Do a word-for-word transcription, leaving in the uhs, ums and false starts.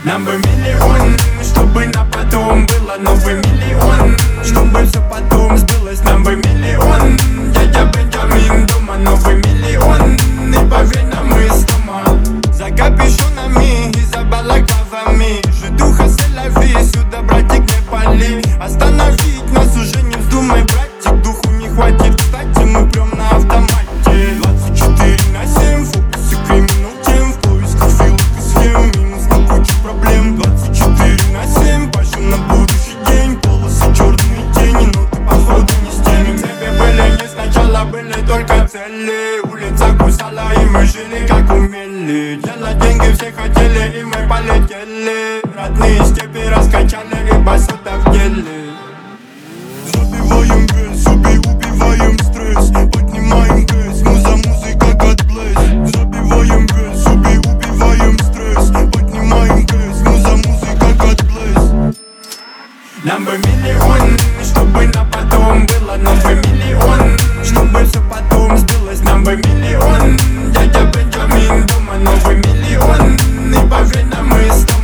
Нам бы миллион, чтобы на потом было новый миллион, чтобы все потом сбылось. Нам бы миллион, дядя Бенджамин дома, новый миллион, и поверь нам из дома. За капюшонами и за балаклавами жду хаселяви, сюда, братик, не пали. Остановить нас уже не вздумай, братик, духу не хватит. Кстати, мы прям на автомате. Двадцать четыре на семь, в фокусе криминал тем, в поисках филок и схем, минус на кучу проблем. Двадцать четыре на семь, пашем на будущий день, полосы черные тени, но ты походу не с теми. Цепи были не сначала, были только цели. Улица кусала, и мы жили как умели. Делать деньги все хотели, и мы полетели. Родные степи раскачали, и басота в деле. Забиваем вес, убей, убиваем стресс, поднимаем кэс, муза, музыка, God bless. Забиваем вес, убей, убиваем стресс, поднимаем кэс, муза, музыка, God bless. Нам бы миллион, чтобы на потом было новый миллион, чтобы все потом сбылось. Нам бы миллион, дядя Бенджамин дома, новый миллион, и поверь нам из дома.